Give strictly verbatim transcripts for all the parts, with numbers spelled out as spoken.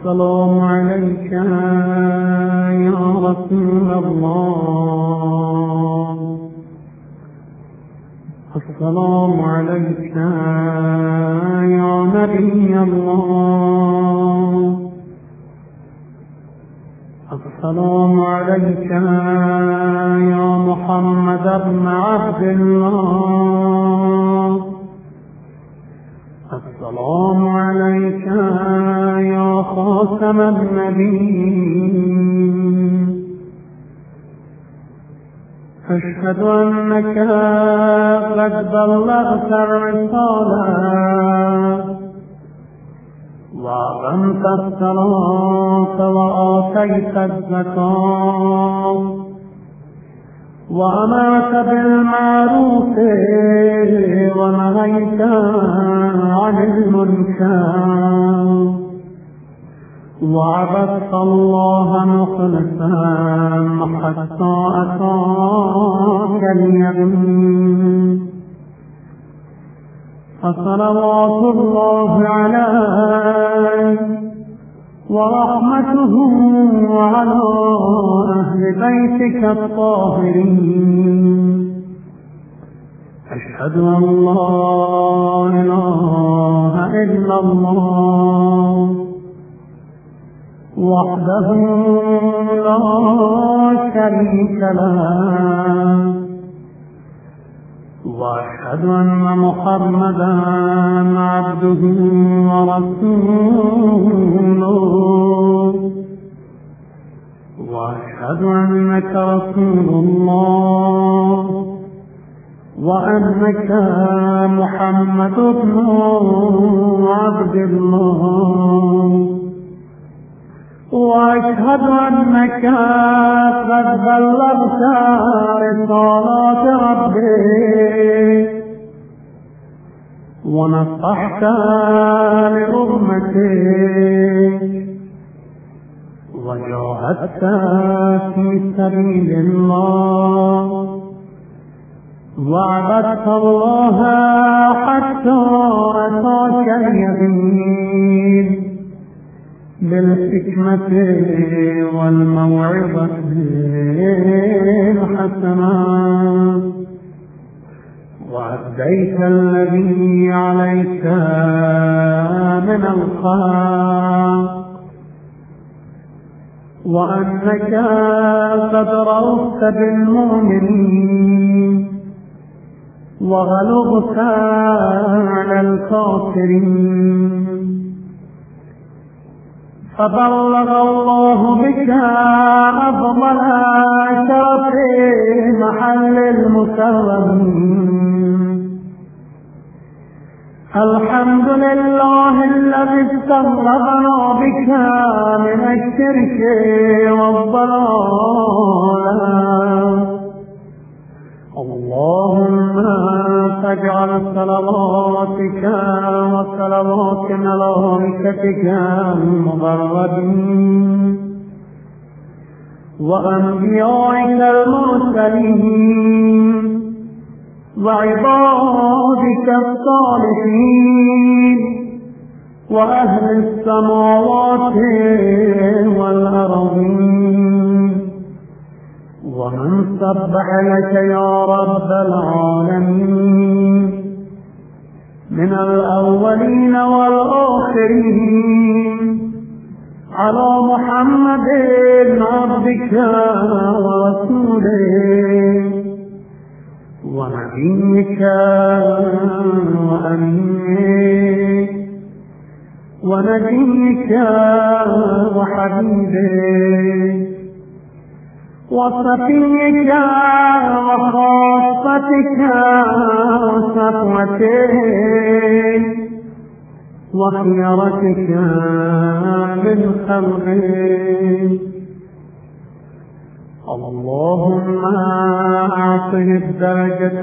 السلام عليك يا رسول الله. السلام عليك يا نبي الله. السلام عليك يا محمد بن عبد الله. السلام عليك يا خاتم النبيين. أشهد أنك قد بلغت الرسالة وأقمت الصلاة وآتيت الزكاة وأمرت بالمعروف ونهيت عن المنكر وعبدت الله مخلصا حتى أتاك اليقين. فصلوات الله عليه ورحمته وعلى أهل بيتك الطاهرين. أشهد أن لا إله إلا الله وحده لا شريك له وأشهد أن محمدا عبده ورسوله وأشهد أنك رسول الله وأنك محمد بن عبد الله وأشهد أنك قد بلغت رسالات ربك ونصحت لأمتك وجاهدت في سبيل الله وعبدت الله حتى أتاك اليقين بالحكمة والموعظة الحسنة وأديت الذي عليك من الحق وأنك قد رأفت بالمؤمنين وغلظت على الكافرين. فبلغ الله بك أفضل شرف محل المكرمين. الحمد لله الذي استغرقنا بك من الشرك والضلال. اللهم فاجعل صلواتك وصلوات ملائكتك المقربين وأنبيائك المرسلين وعبادك الصالحين وأهل السماوات والأرضين ومن سبح لك يا رب العالمين من الأولين والآخرين على محمد عبدك ورسوله ونبيك وأمينك ونبيك وحبيبك وصفيك وخاصتك وصفوتك وخيرتك من خلقك. اللهم أعطه الدرجة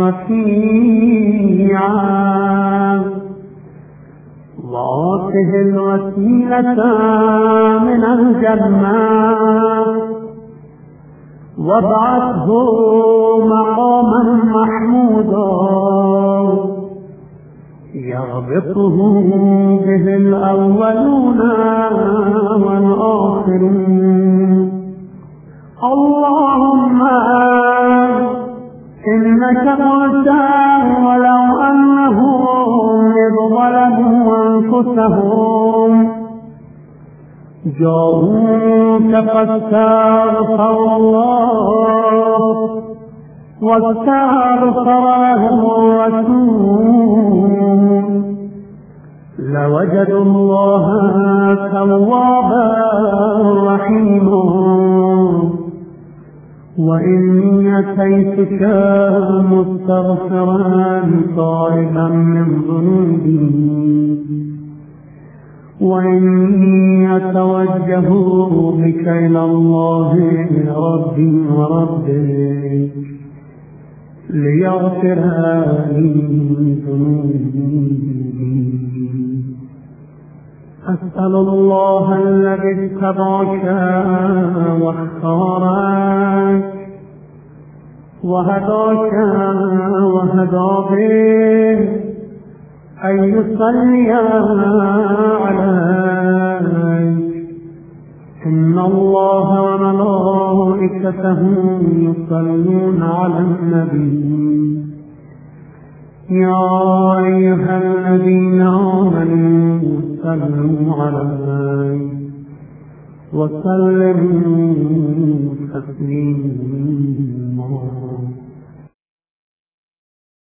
الرفيعة وآته الوسيلة من الجنة وابعثه مقاما محمودا يغبطه به الأولون جاءوك فاستغفر الله واستغفر لهم الرسول لوجدوا الله توابا رحيما. وإني أتيتك مستغفرا تائبا من ذنوبي وإني أتوجه بك إلى الله ربي وربك ليغفر لي ذنوبي. أسأل الله الذي اتبعك واختارك وهداك وهدى بك أن يصلي عليك. إن الله وملائكته يصلون على النبي يا أيها الذين آمنوا صلوا عليه وسلموا تسليما.